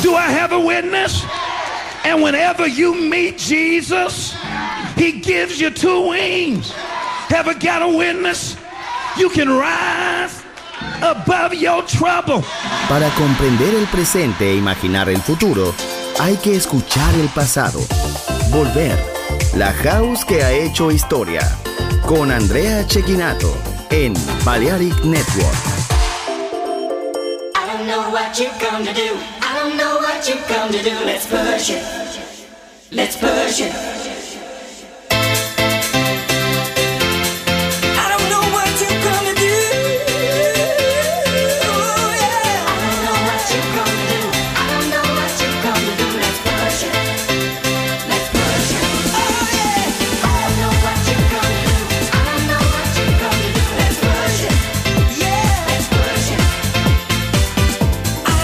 Do I have a witness? And whenever you meet Jesus, he gives you two wings. Have I got a witness? You can rise above your trouble. Para comprender el presente e imaginar el futuro, hay que escuchar el pasado. Volver. La House que ha hecho historia. Con Andrea Cecchinato en Balearic Network. I don't know what you come to do. I don't know what you come to do. Let's push it. Let's push it.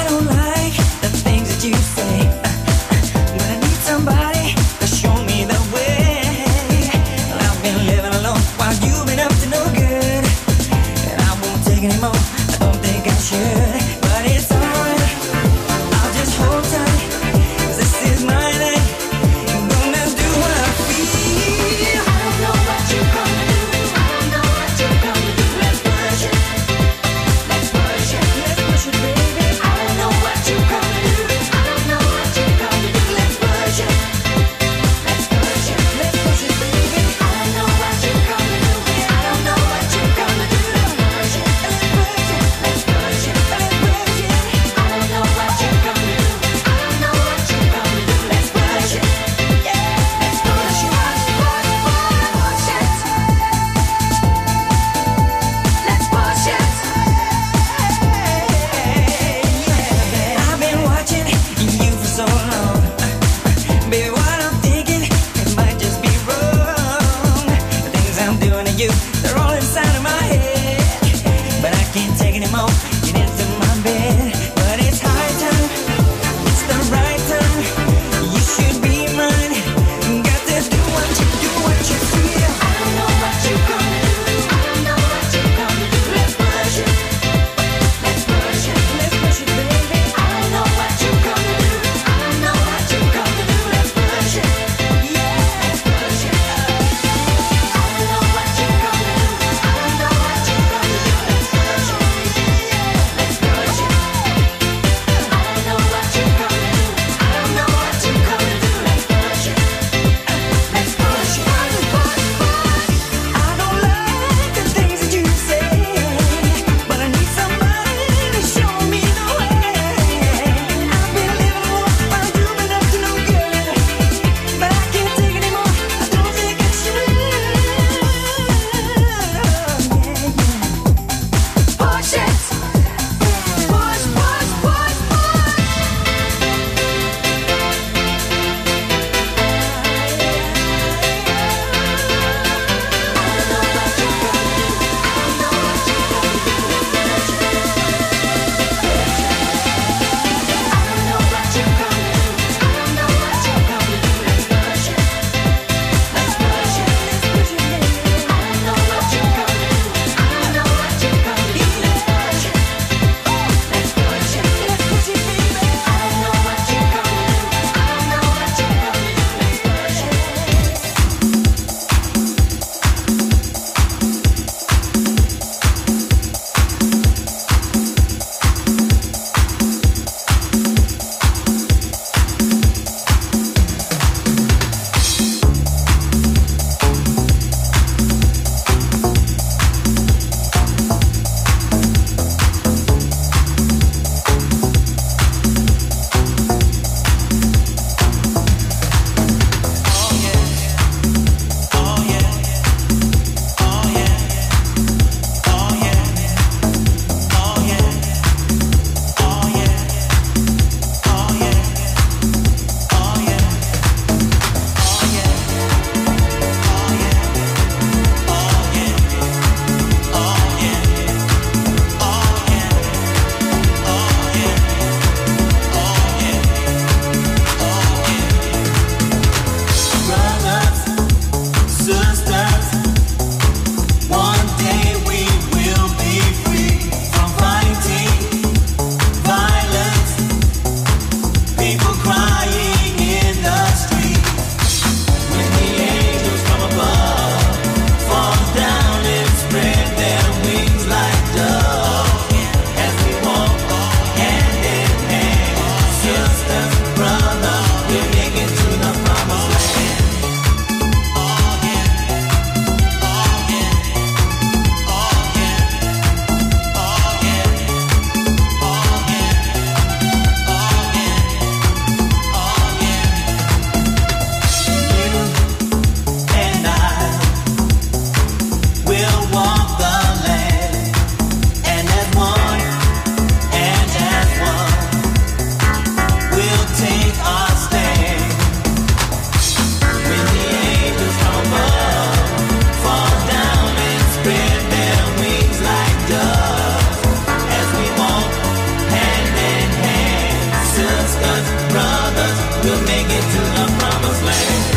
You say, but I need somebody to show me the way. sisters, brothers, we'll make it to the promised land.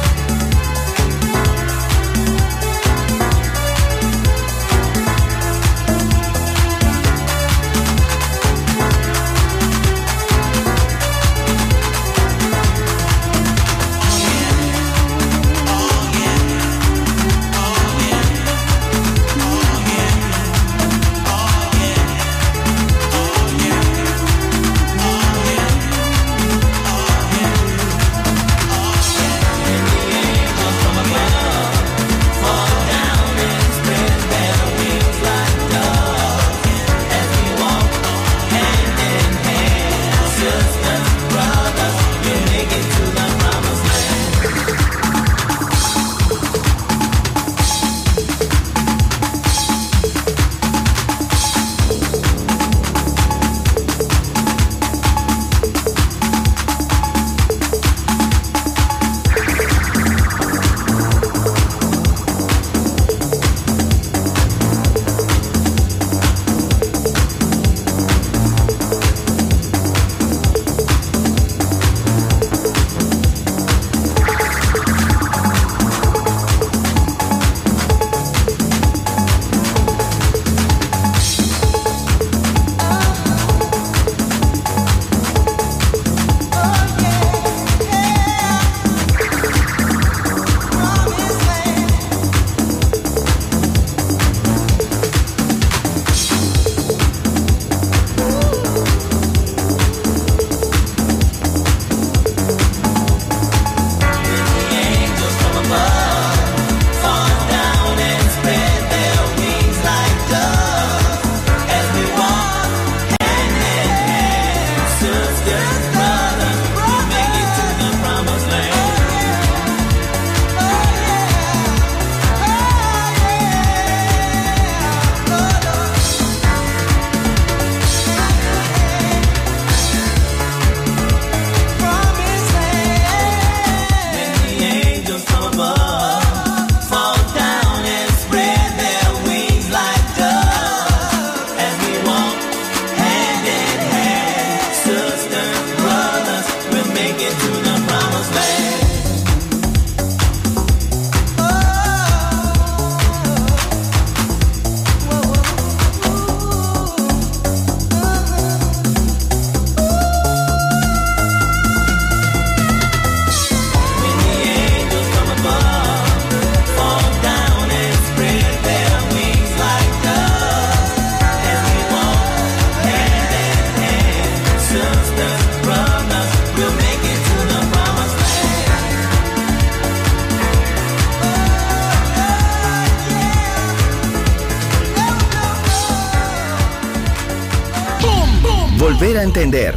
Volver a entender.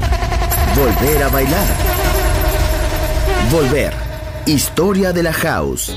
Volver a bailar. Volver. Historia de la House.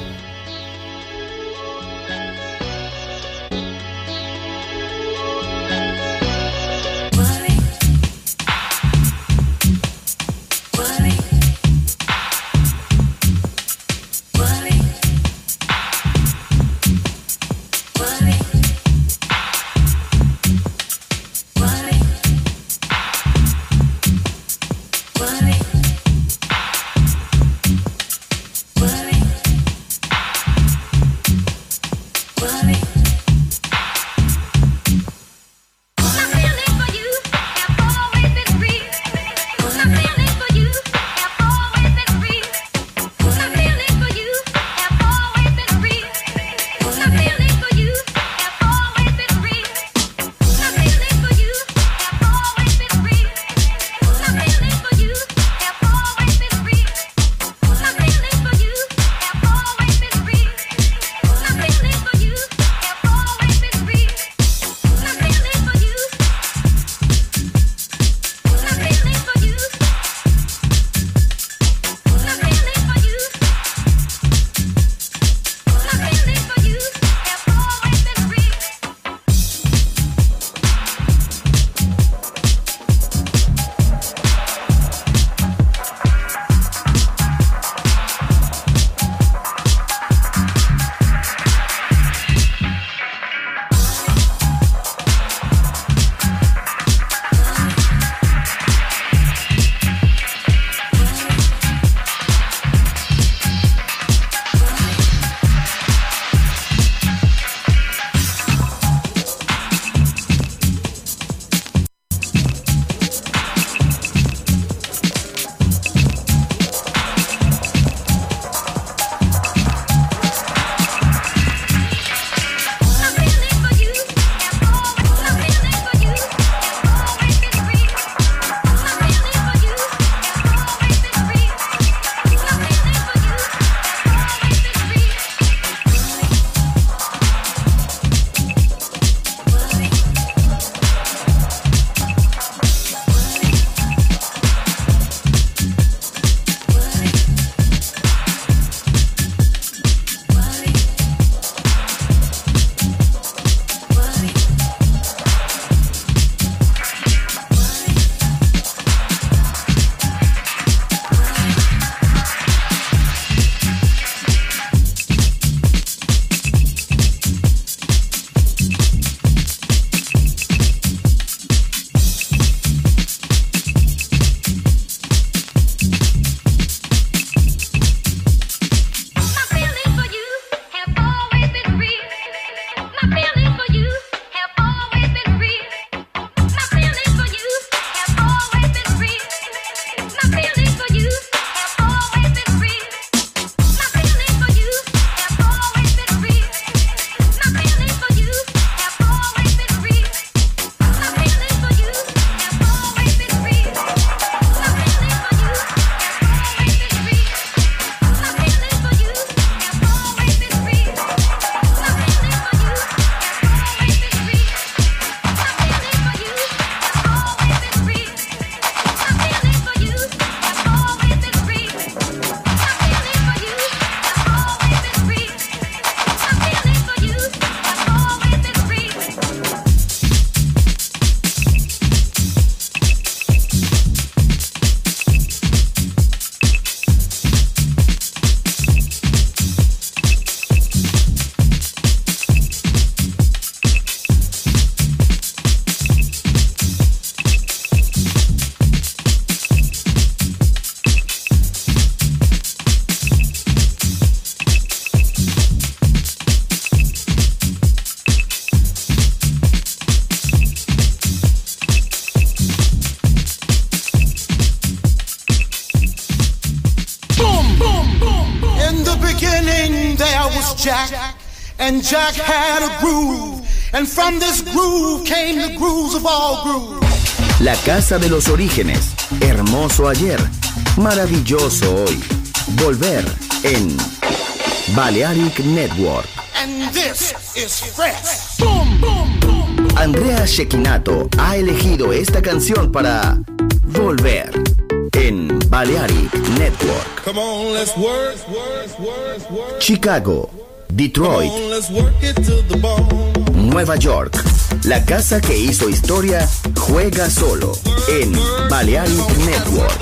the beginning there was Jack, and Jack had a groove, and from this groove came the grooves of all grooves. La casa de los orígenes, hermoso ayer, maravilloso hoy. Volver en Balearic Network. And this is fresh. Boom, boom, boom. Andrea Cecchinato ha elegido esta canción para Volver en Balearic Network. Come on, let's work. Chicago, Detroit, Come on, let's work it to the bone. Nueva York. La casa que hizo historia juega solo en Balearic Network.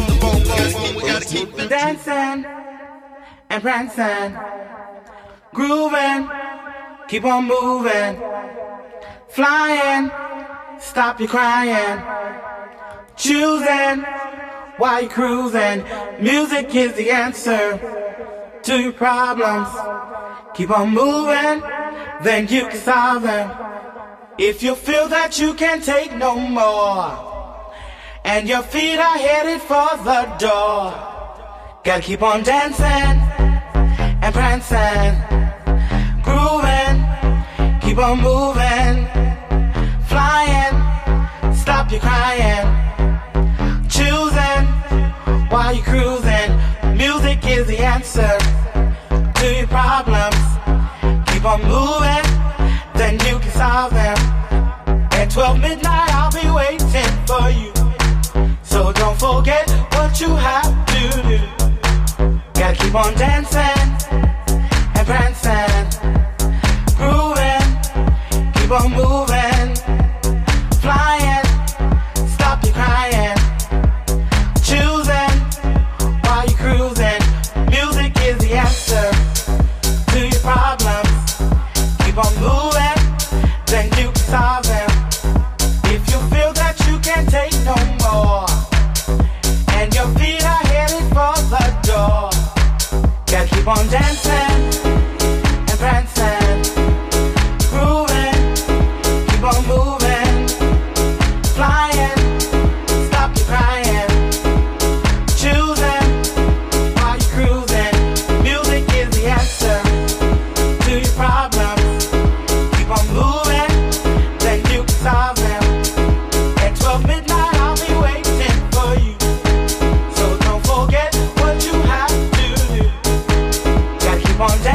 Dancing and prancing, grooving, keep on moving, flying, stop your crying, choosing while you're cruising. Music is the answer to your problems. Keep on moving, then you can solve them. If you feel that you can't take no more, and your feet are headed for the door, gotta keep on dancing and prancing, grooving, keep on moving, flying, stop your crying, choosing while you're cruising. Music is the answer to your problems. Keep on moving, then you can solve them. At 12 midnight I'll be waiting for you, so don't forget what you have to do. Gotta keep on dancing and prancing, grooving, keep on moving, flying, stop your crying, choosing while you're cruising. Music is the answer to your problems. Keep on moving, then you can solve them. If you feel that you can't take no more, and your feet are headed for the door, gotta keep on dancing and prancing, grooving, keep on moving, flying, stop your crying, choosing while you're cruising. Music is the answer to your problems. Keep on moving, then you can solve them. At 12 midnight I'll be waiting for you, so don't forget what you have to do. Gotta keep on dancing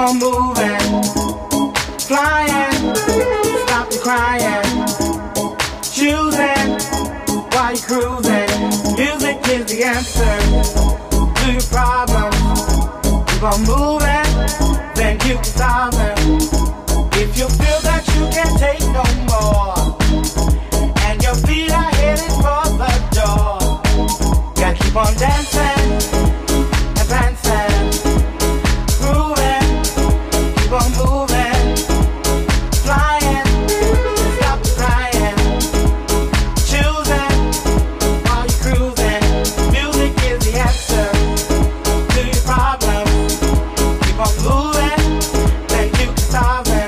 on moving, flying, stop the crying, choosing while you're cruising. Music is the answer to your problems. Keep on moving, then you can solve them. If you feel that you can't take no more, and your feet are headed for the door, gotta keep on dancing and prancing, grooving, keep on moving, flying, stop crying, choosing while you're cruising. Music is the answer to your problems. Keep on moving, then you can solve them.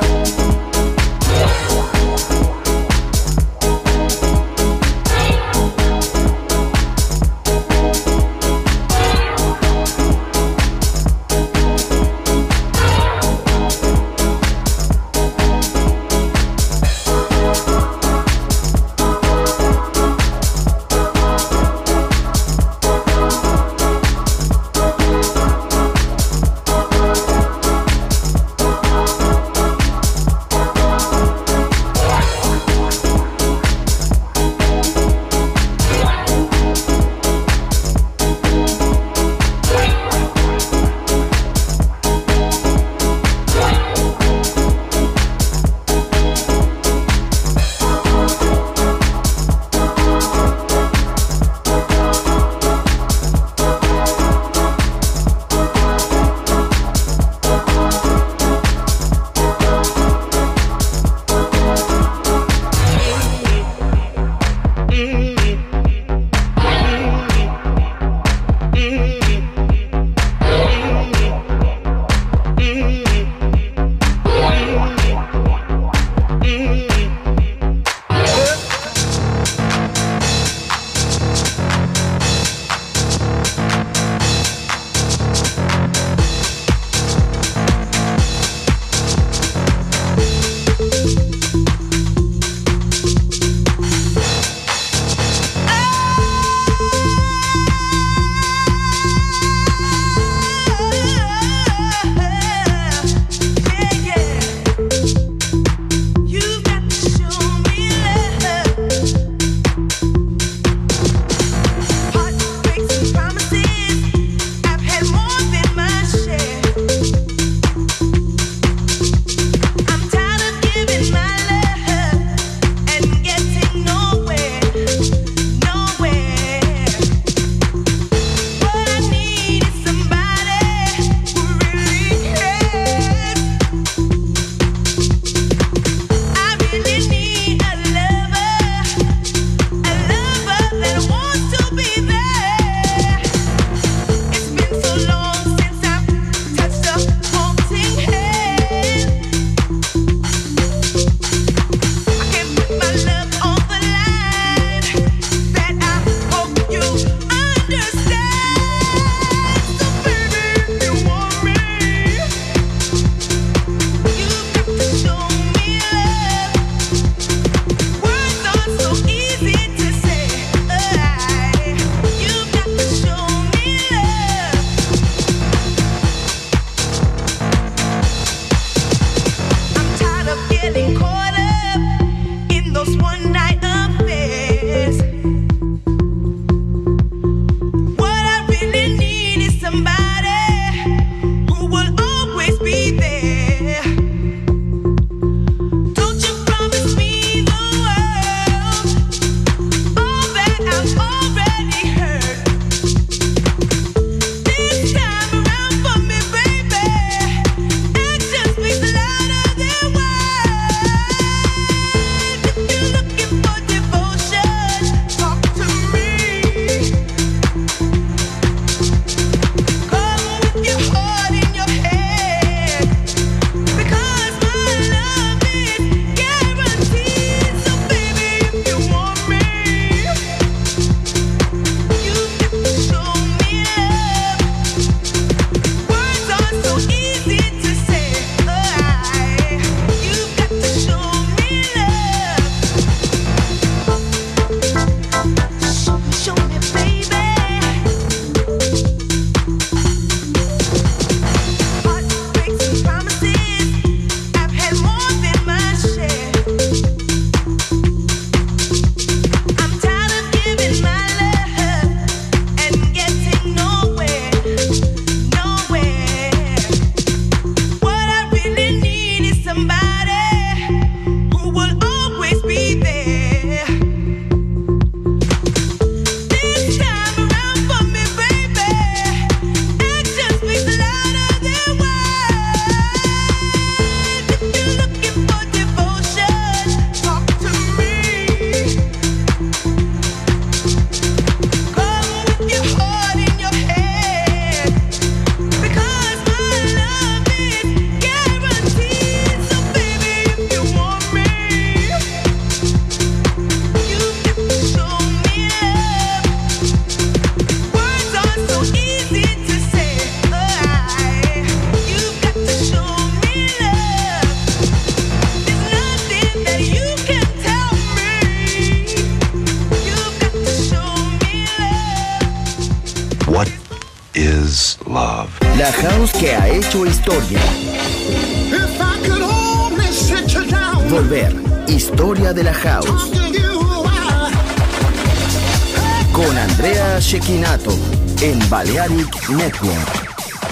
La house que ha hecho historia. If I could only sit you down. Volver. Historia de la house. Talk to you about. Con Andrea Cecchinato en Balearic Network.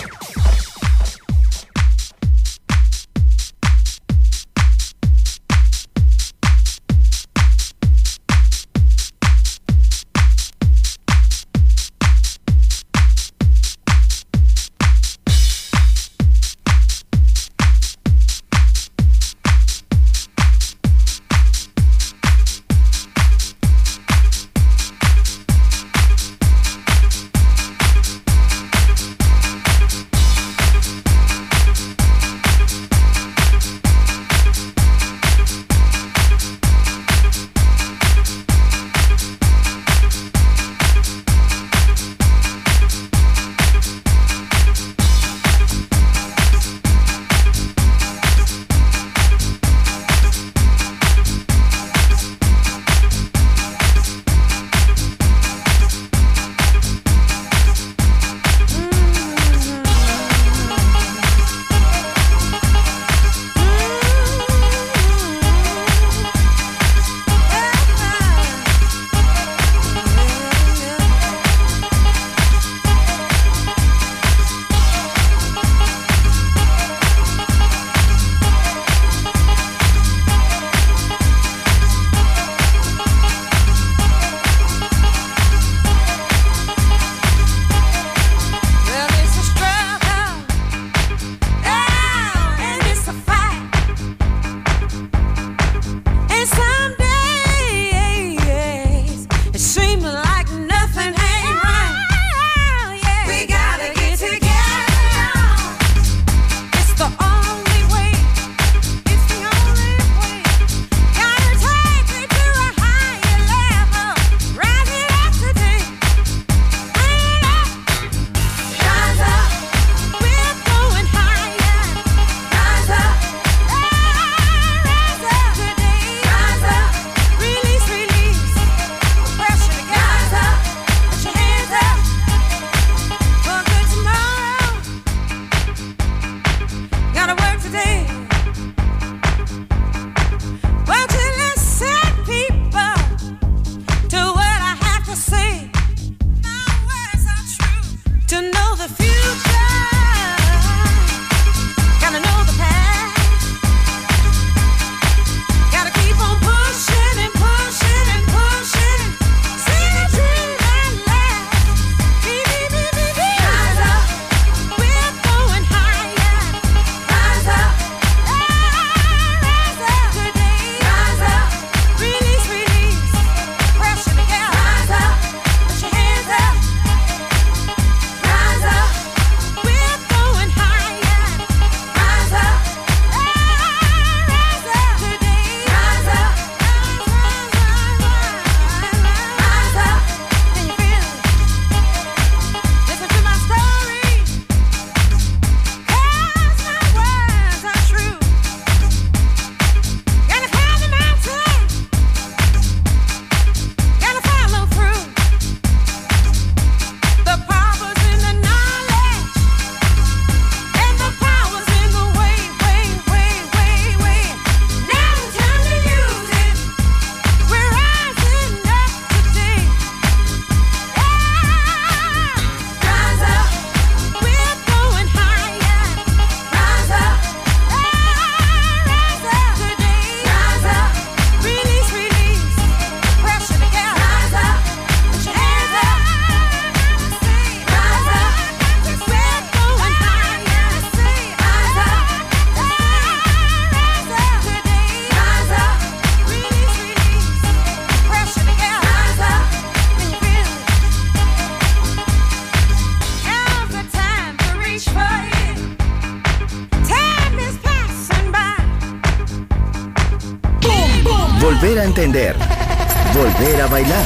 Volver a entender. Volver a bailar.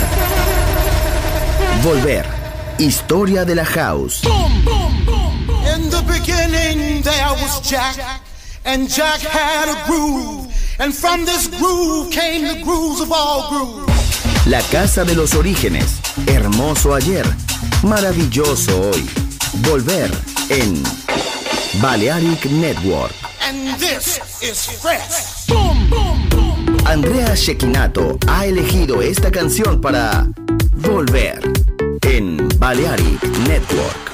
Volver. Historia de la house. In the beginning there was Jack, and Jack had a groove, and from this groove came the grooves of all grooves. La casa de los orígenes. Hermoso ayer. Maravilloso hoy. Volver. en Balearic Network. And this is fresh. Boom, boom, boom. Andrea Cecchinato ha elegido esta canción para Volver en Balearic Network.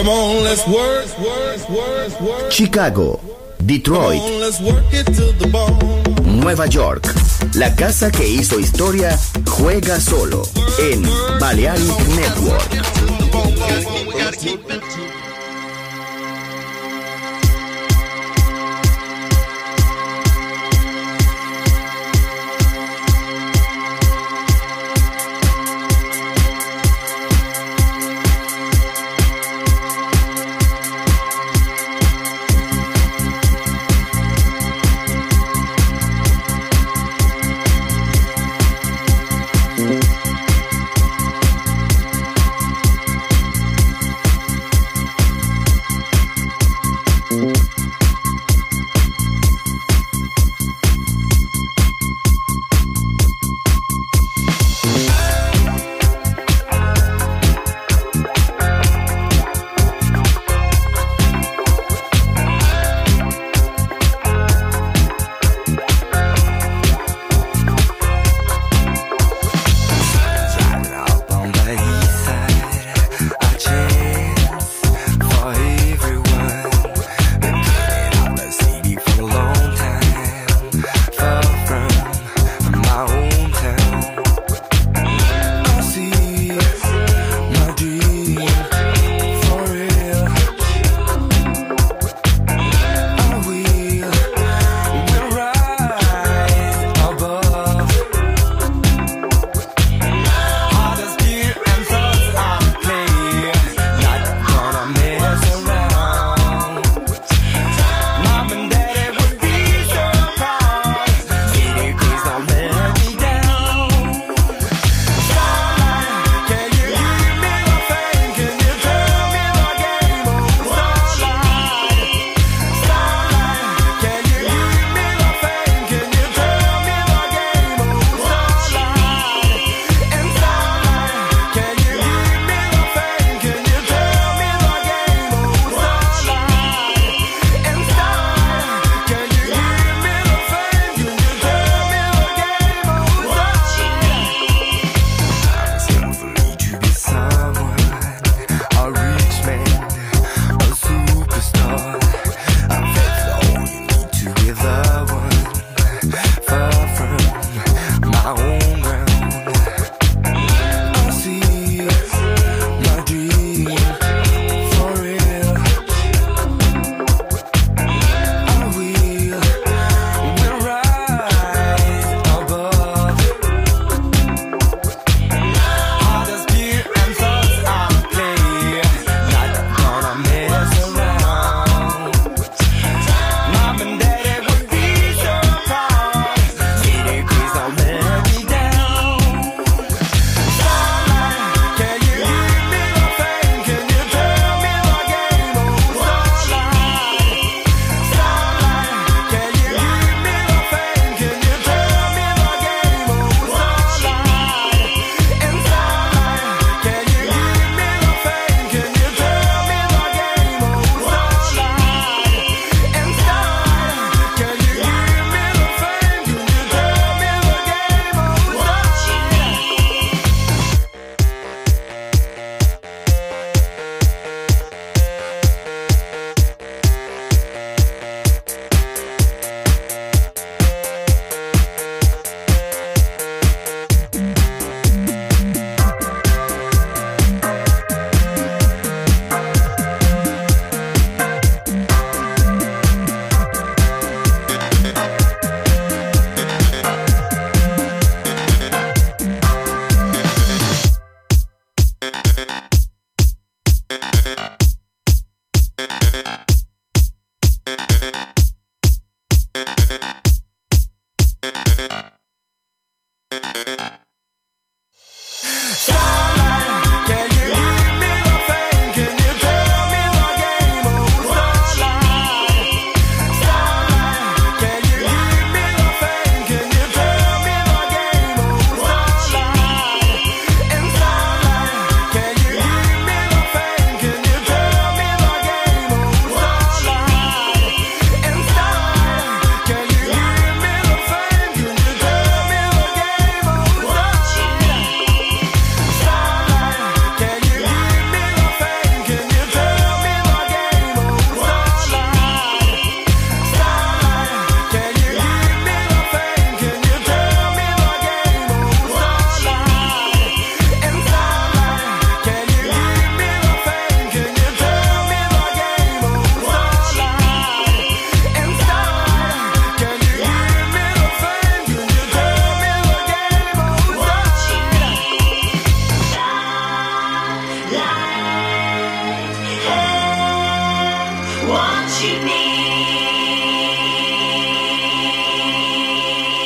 Come on, let's work. Chicago, Detroit, Come on, let's work it to the bone. Nueva York. La casa que hizo historia juega solo en Balearic Network.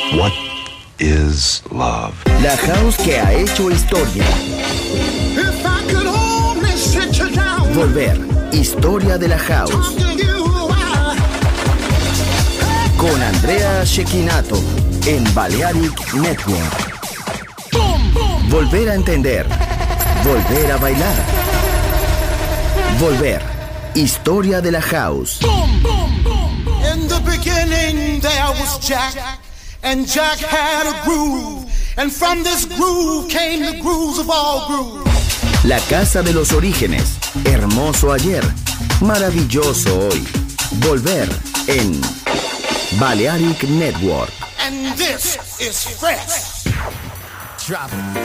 What is love? La house que ha hecho historia. If I could only sit you down. Volver. Historia de la house. Con Andrea Cecchinato en Balearic Network. Volver a entender. Volver a bailar. Volver. Historia de la house. In the beginning there was Jack, and Jack had a groove, and from this groove came the grooves of all grooves. La casa de los orígenes. Hermoso ayer. Maravilloso hoy. Volver en Balearic Network. And this is fresh. Drop it.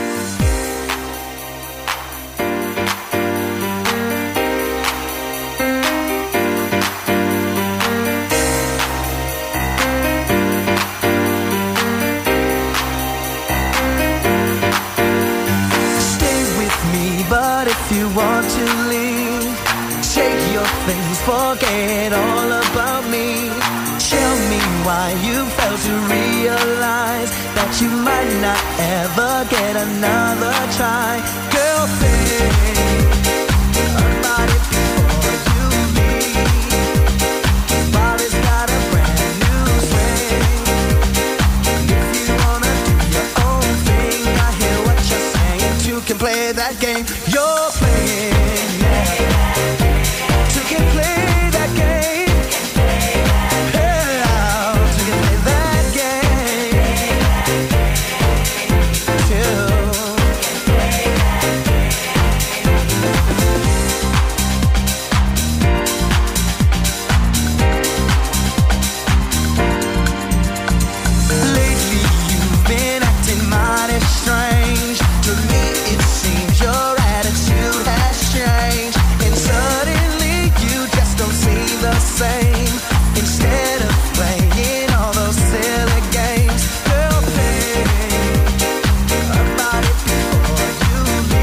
You want to leave, take your things, forget all about me. Tell me why you failed to realize that you might not ever get another try. Girl, think about it before you leave. Body's got a brand new swing. If you wanna do your own thing, I hear what you're saying. You can play that game. You're playing, yeah. You can play that game. Yeah, you can play that game. Lately you've been acting mighty strange. To me it seems your attitude has changed, and suddenly you just don't seem the same. Instead of playing all those silly games, girl, think about it before you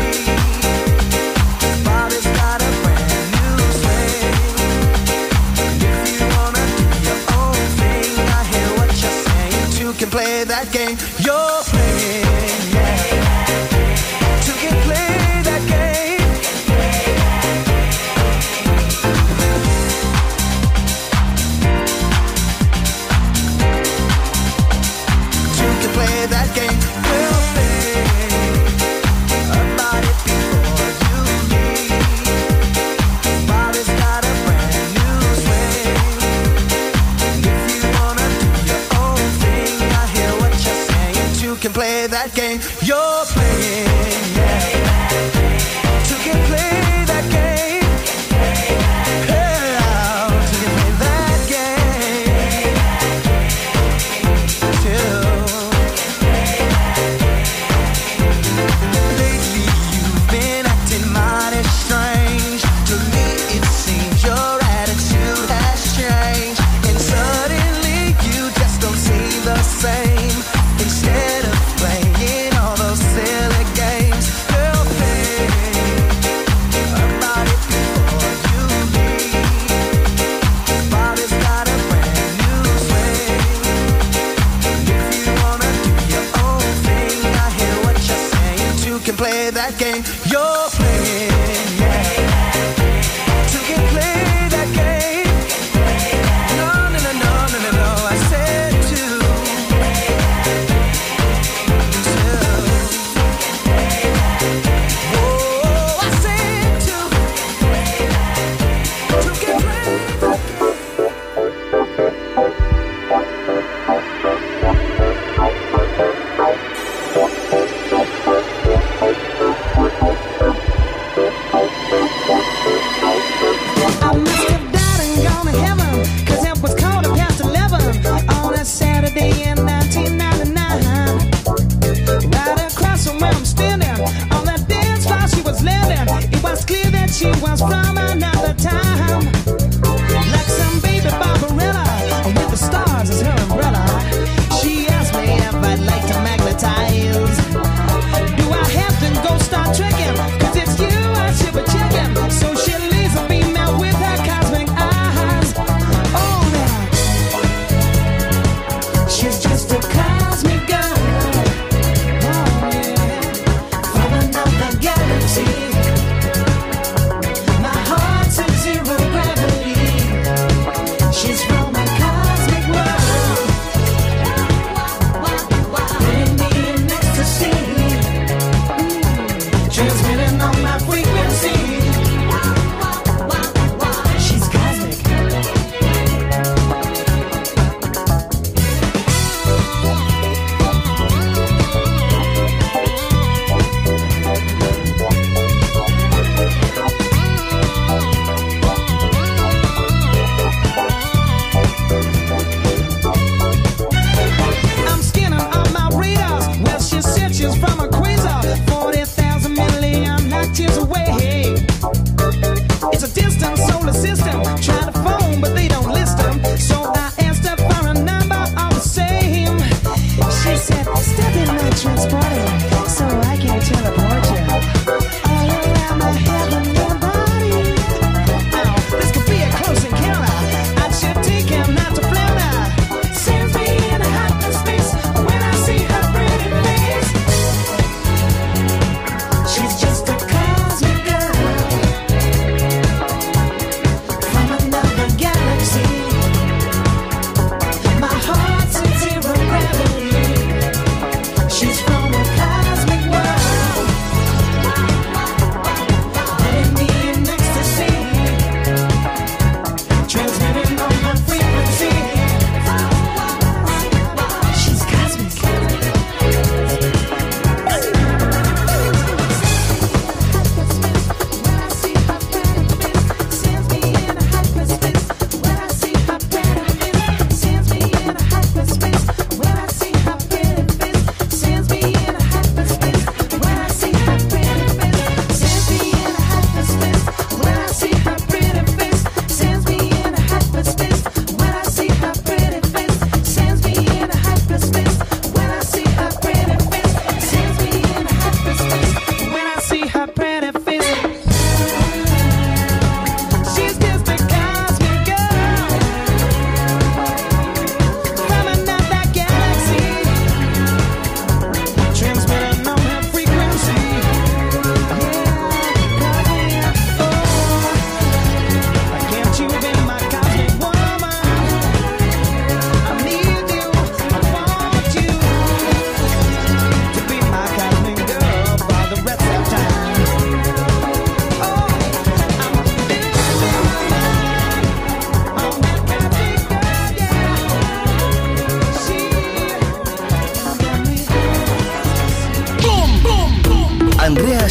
leave. Body's got a brand new swing. If you wanna do your own thing, I hear what you're saying. You can play that game. You're playing, yeah. You can play that game. You can play that game. We'll think about it before you leave. Body's got a brand new swing. If you wanna do your own thing, I hear what you're saying. You can play that game. You're playing, yeah. You can play that game. Yeah, you can play that game too. Lately you've been acting mighty strange. To me it seems your attitude has changed, and suddenly you just don't seem the same. Instead of playing all those silly games, girl, think about it before you leave. Body's got a brand new swing. If you wanna do your own thing, I hear what you're saying. You can play that game. You're playing, yeah. You can play that game. No, no, no, no, no, no, no. I said to. Oh, I said to. You can play that game.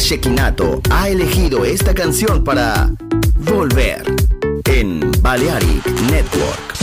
Shekinato ha elegido esta canción para volver en Balearic Network.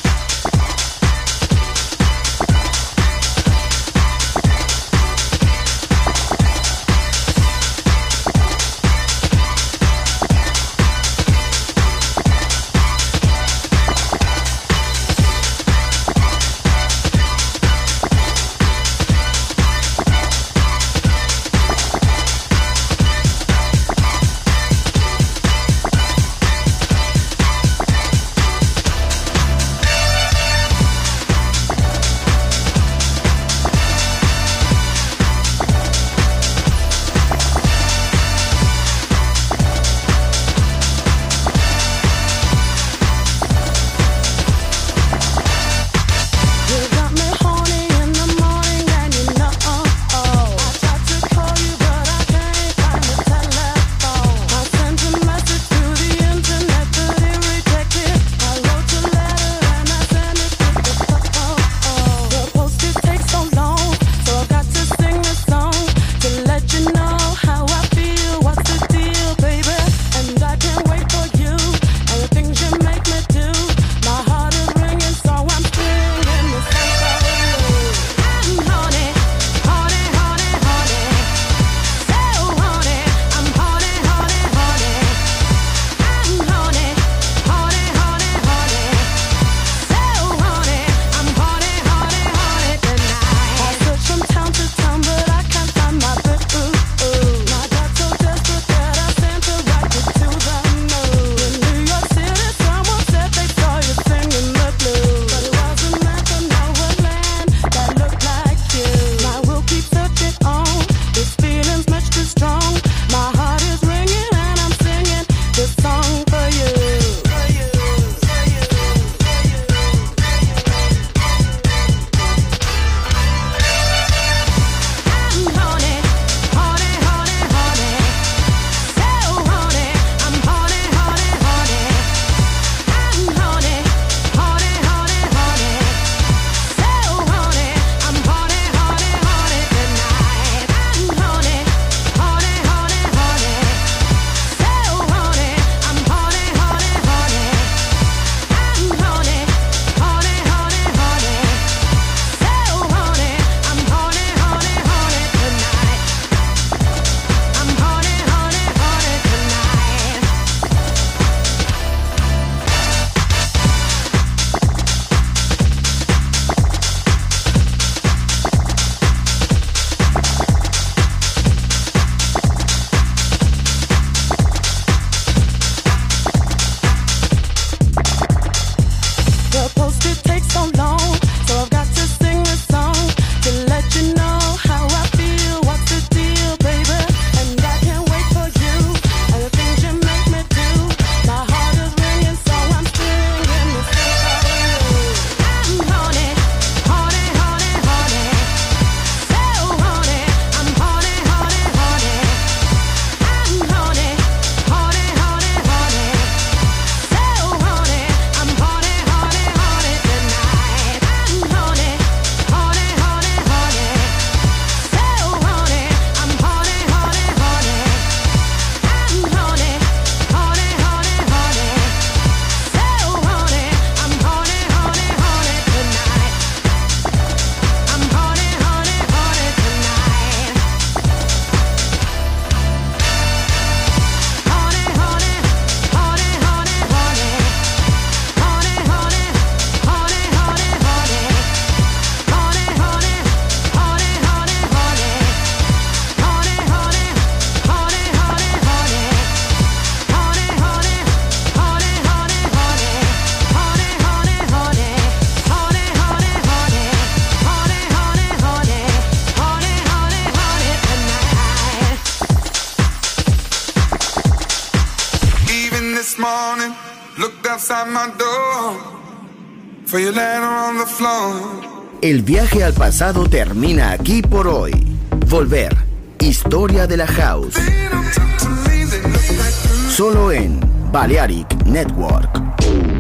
El viaje al pasado termina aquí por hoy. Volver. Historia de la House. Solo en Balearic Network.